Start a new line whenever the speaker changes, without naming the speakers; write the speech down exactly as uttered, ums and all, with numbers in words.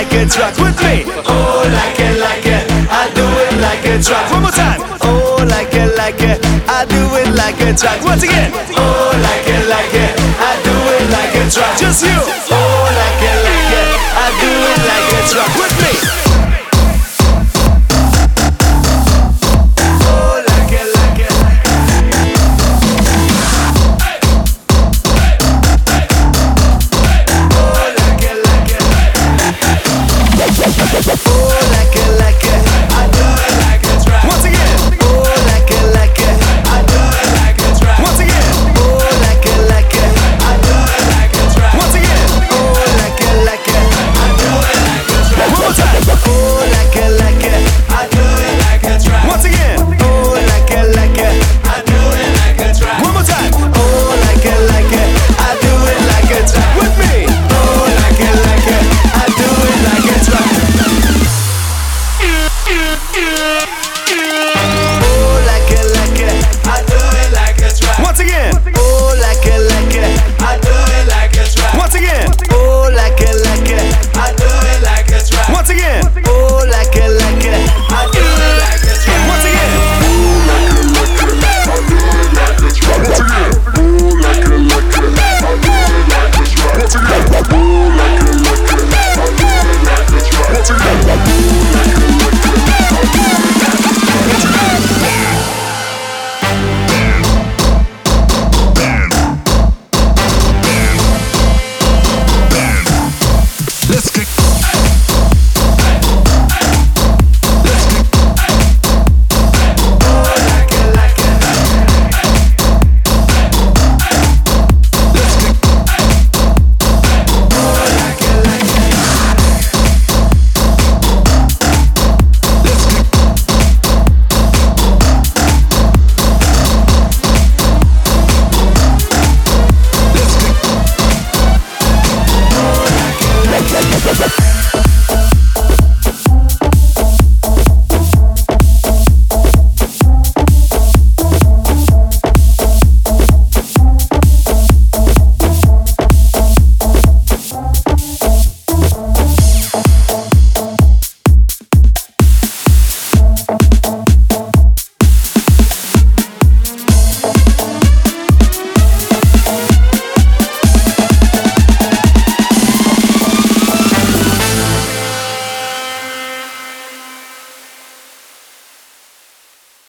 like a truck. With me. Oh, like it, like it, I do it like a truck. One more time. Oh, like it, like it, I do it like a truck. Once again. Oh, like it, like it, I do it like a truck. Just you. Oh, like it, like it, I do it like a truck.